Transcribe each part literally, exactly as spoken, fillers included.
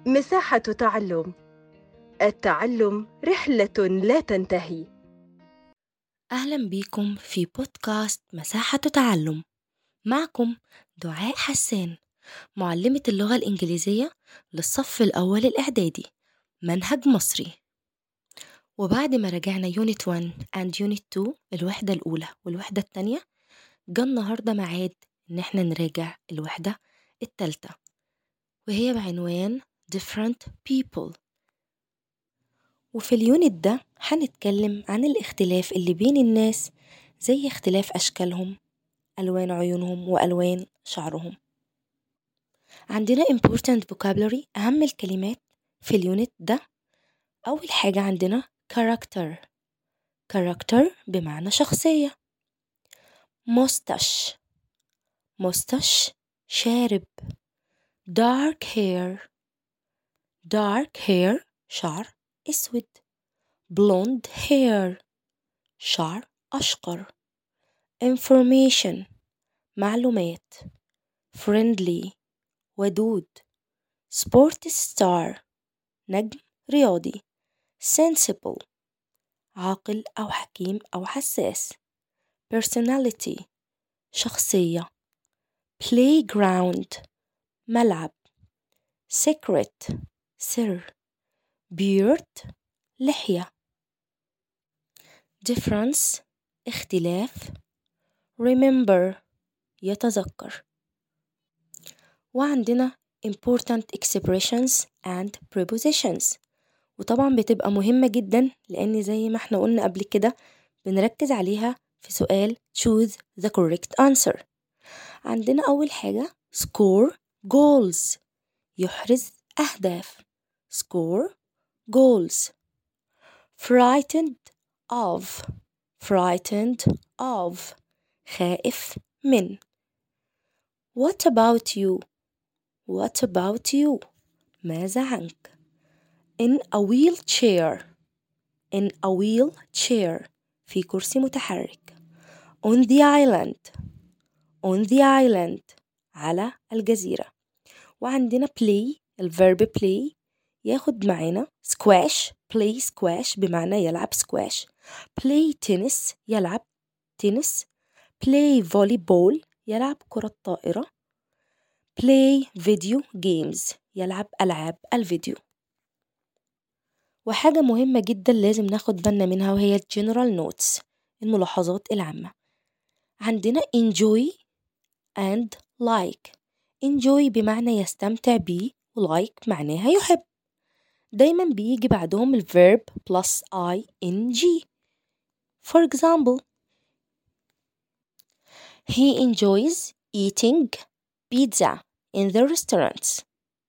مساحة تعلم. التعلم رحلة لا تنتهي. أهلا بيكم في بودكاست مساحة تعلم. معكم دعاء حسان، معلمة اللغة الإنجليزية للصف الأول الإعدادي، منهج مصري. وبعد ما رجعنا يونت واحد and يونت اتنين الوحدة الأولى والوحدة التانية، جا النهاردة معاد إن احنا نراجع الوحدة التالتة، وهي بعنوان different people. وفي اليونت ده هنتكلم عن الاختلاف اللي بين الناس، زي اختلاف أشكالهم، ألوان عيونهم، وألوان شعرهم. عندنا important vocabulary، أهم الكلمات في اليونت ده. أول حاجة عندنا character. character بمعنى شخصية. mustache. mustache شارب. dark hair. dark hair شعر أسود. blonde hair شعر أشقر. information معلومات. friendly ودود. sport star نجم رياضي. sensible عاقل أو حكيم أو حساس. personality شخصية. playground ملعب. secret سر. beard لحية. difference اختلاف. remember يتذكر. وعندنا important expressions and prepositions، وطبعا بتبقى مهمة جدا لأن زي ما احنا قلنا قبل كده بنركز عليها في سؤال choose the correct answer. عندنا أول حاجة score goals يحرز أهداف. score goals. frightened of frightened of خائف من. what about you what about you ماذا عنك. in a wheelchair in a wheelchair في كرسي متحرك. on the island on the island على الجزيرة. وعندنا play الverb play ياخد معانا squash play squash بمعنى يلعب squash. play tennis يلعب تنس. play volleyball يلعب كرة طائرة. play video games يلعب ألعاب الفيديو. وحاجة مهمة جدا لازم ناخد بالنا منها وهي general notes الملاحظات العامة. عندنا enjoy and like. enjoy بمعنى يستمتع بيه، و-like معناها يحب. دايما بيجي بعدهم الverb plus ing. for example he enjoys eating pizza in the restaurants.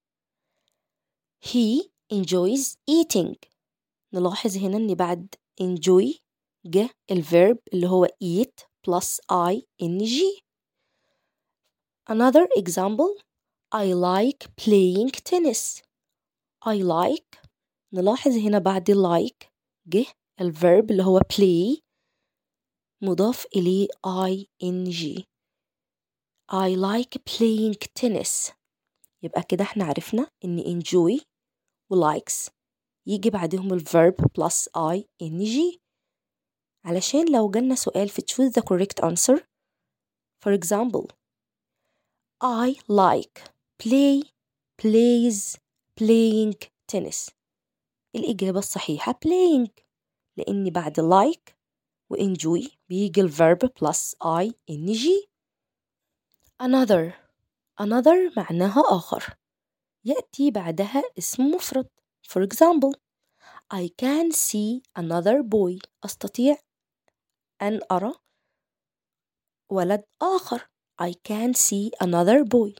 he enjoys eating. نلاحظ هنا ان بعد enjoy جه الverb اللي هو eat plus ing. another example I like playing tennis. I like نلاحظ هنا بعد like جه الverb اللي هو play مضاف إليه ing. I like playing tennis. يبقى كده احنا عرفنا ان enjoy و likes يجي بعدهم الverb plus ing، علشان لو جالنا سؤال في choose the correct answer. for example I like play plays playing tennis. الإجابة الصحيحة playing، لأن بعد like و enjoy بيجي الverb plus ing. another another معناها آخر، يأتي بعدها اسم مفرد. for example I can see another boy. أستطيع أن أرى ولد آخر. I can see another boy.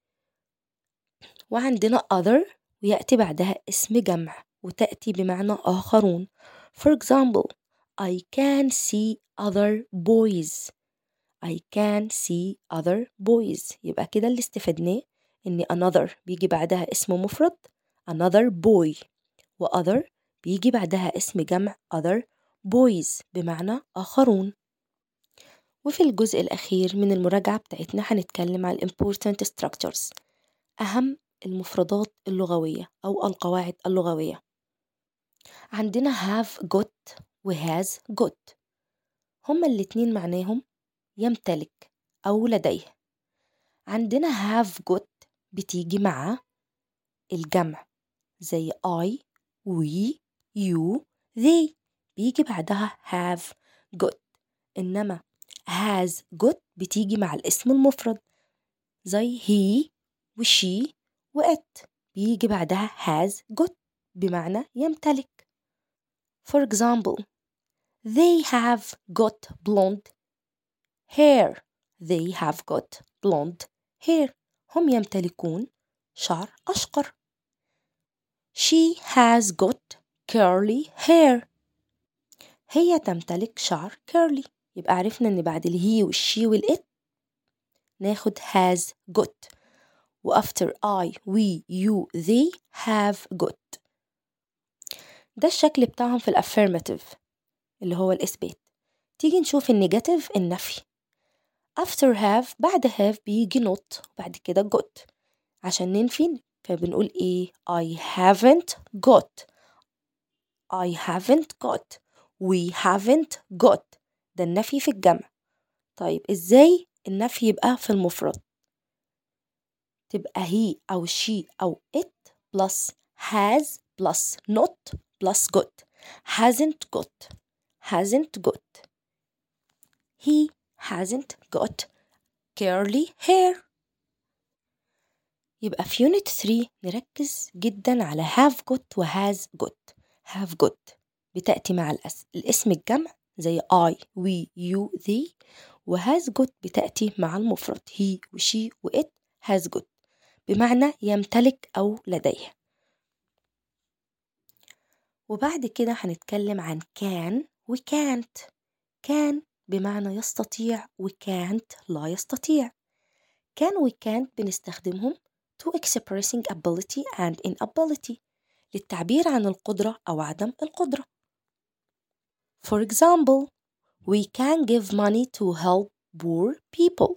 وعندنا other ويأتي بعدها اسم جمع وتأتي بمعنى آخرون. for example I can see other boys. I can see other boys. يبقى كده اللي استفدناه إن another بيجي بعدها اسم مفرد another boy، و other بيجي بعدها اسم جمع other boys بمعنى آخرون. وفي الجزء الأخير من المراجعة بتاعتنا هنتكلم عن important structures، أهم المفردات اللغوية أو القواعد اللغوية. عندنا have got و has got، هما الاتنين معناهم يمتلك أو لديه. عندنا have got بتيجي مع الجمع زي I we you they، بيجي بعدها have got. إنما has got بتيجي مع الاسم المفرد زي he و she و it، بيجي بعدها has got بمعنى يمتلك. For example, they have got blonde hair. They have got blonde hair. هم يمتلكون شعر أشقر. She has got curly hair. هي تمتلك شعر curly. يبقى عرفنا إن بعد الهي والشي والإت ناخد has got، و after I we you they have got. ده الشكل بتاعهم في الأفيرماتيف اللي هو الإثبات. تيجي نشوف النيجاتيف النفي. after have بعد have بيجي not وبعد كده got عشان ننفي، فبنقول إيه؟ I haven't got. I haven't got. We haven't got. ده النفي في الجمع. طيب إزاي النفي يبقى في المفرد؟ تبقى he أو she أو it plus has plus not plus got. hasn't got. hasn't got. He hasn't got curly hair. يبقى في unit three نركز جدا على have got و has got. have got بتأتي مع الأس... الاسم الجمع زي I we you they، و has got بتأتي مع المفرد he و she و it has got بمعنى يمتلك أو لديه. وبعد كده هنتكلم عن can و can't. can بمعنى يستطيع و can't لا يستطيع. can و can't بنستخدمهم to expressing ability and inability، للتعبير عن القدرة أو عدم القدرة. For example, we can give money to help poor people.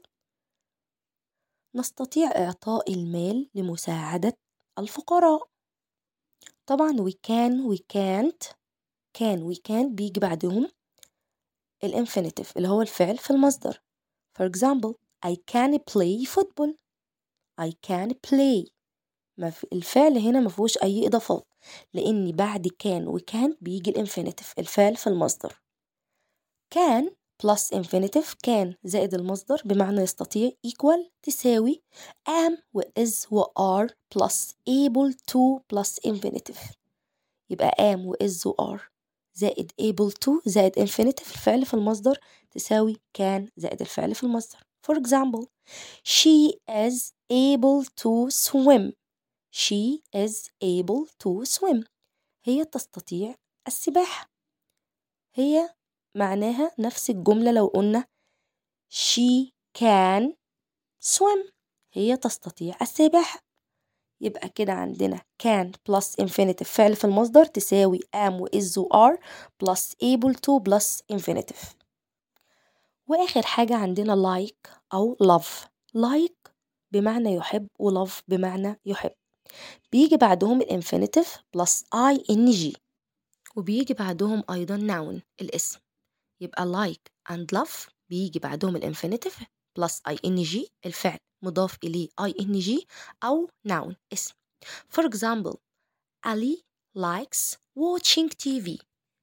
نستطيع إعطاء المال لمساعدة الفقراء. طبعا we can we can't can we can't بيجي بعدهم الانفينيتيف اللي هو الفعل في المصدر. For example, I can play football. I can play. ما في الفعل هنا ما فيهوش أي إضافات، لأن بعد can و can't بيجي الانفينيتيف الفعل في المصدر. can plus infinitive can زائد المصدر بمعنى يستطيع equal تساوي am و is و are plus able to plus infinitive. يبقى am و is و are زائد able to زائد infinitive الفعل في المصدر تساوي can زائد الفعل في المصدر. For example, she is able to swim. She is able to swim. هي تستطيع السباحة. هي معناها نفس الجملة لو قلنا she can swim. هي تستطيع السباحة. يبقى كده عندنا can plus infinitive فعل في المصدر تساوي am و is و are plus able to plus infinitive. وآخر حاجة عندنا like أو love. like بمعنى يحب و love بمعنى يحب، بيجي بعدهم الانفينيتيف plus ing، وبيجي بعدهم أيضا noun الاسم. يبقى like and love بيجي بعدهم الانفينيتيف plus ing الفعل مضاف إليه ing أو noun اسم. For example, Ali likes watching تي في.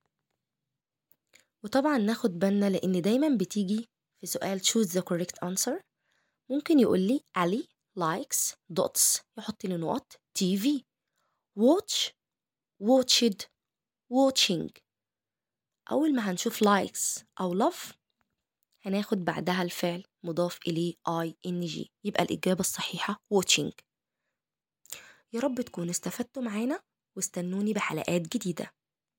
وطبعا ناخد بالنا لأن دايما بتيجي في سؤال choose the correct answer، ممكن يقول لي Ali likes dots يحط لي نقط تي في. watch watched watching. أول ما هنشوف likes أو love هناخد بعدها الفعل مضاف إليه ing، يبقى الإجابة الصحيحة watching. يا رب تكونوا استفدتوا معانا واستنوني بحلقات جديدة.